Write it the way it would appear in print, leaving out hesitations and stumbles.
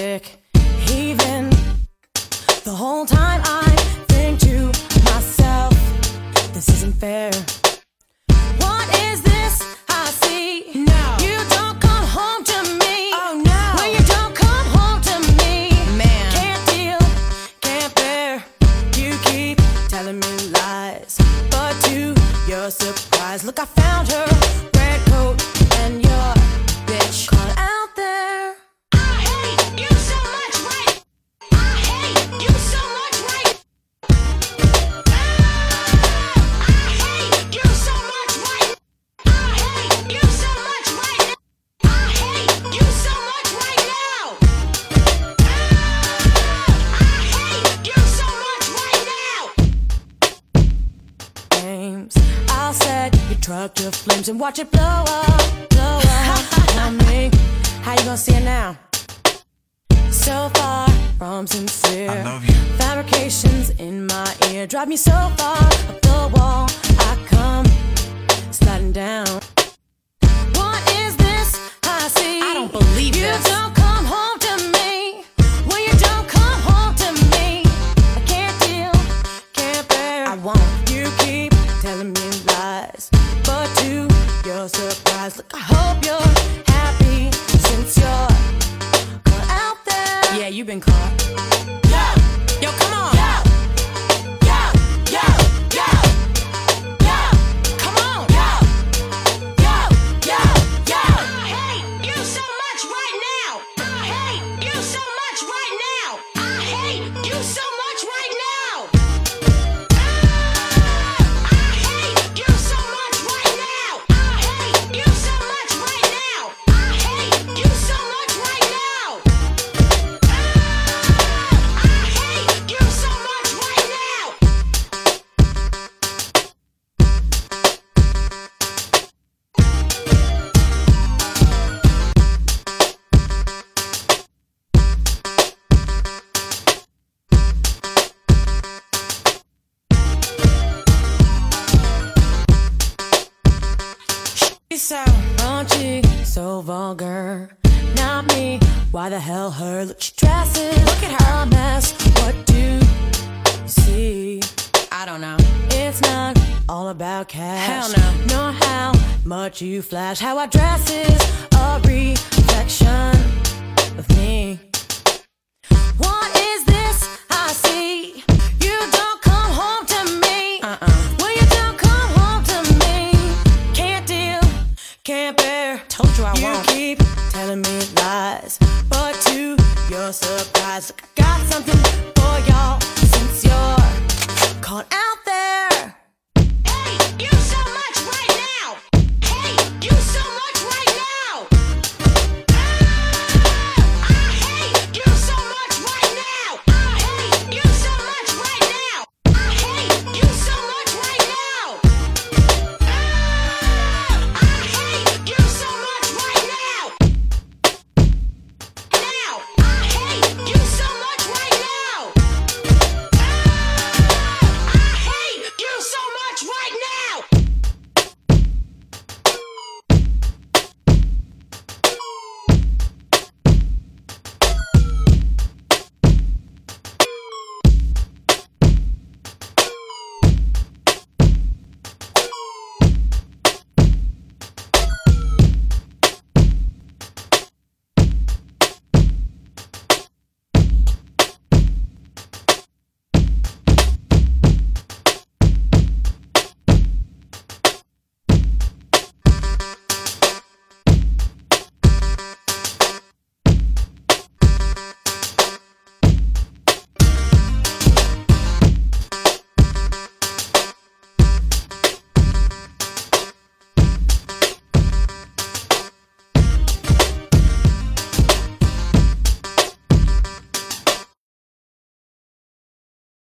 sick, heaving. The whole time I think to myself, this isn't fair. What is this I see? No. You don't come home to me. Oh no. When you don't come home to me, Man. can't deal, can't bear. You keep telling me lies, but to your surprise, look, I found her red coat and your bitch caught out there. I hate you so much, right? I hate you so much, right? I hate you so much, right? I hate you so much, right? I hate you so much right now. I hate you so much right now. Games, I'll set your truck to flames and watch it blow up, blow up. Tell me, how you gonna see it now? So far from sincere, I love you. fabrications in my ear drive me so far up the wall. I come sliding down. What is this I see? I don't believe you this. don't come home to me. When you don't come home to me, I can't deal, can't bear. I won't. You keep telling me lies, but to your surprise, look, I hope you're happy since you're caught out there. Yeah, you've been caught. Yo, come on. Come on. I hate you so much right now. I hate you so much right now. I hate you so much right now. I hate you so much right now. I hate you so much right now. I hate you so much right now. I hate you so much right now. She's so raunchy, so vulgar. Not me, why the hell her? Look, she dresses, look at her, a mess. What do you see? I don't know. It's not all about cash. Hell no. Nor how much you flash. How I dress is a reflection of me. What is this I see? You don't come home to me. When you don't come home to me, can't deal, can't bear. Told you I You won't. keep telling me lies, but to your surprise, look, I got something for y'all.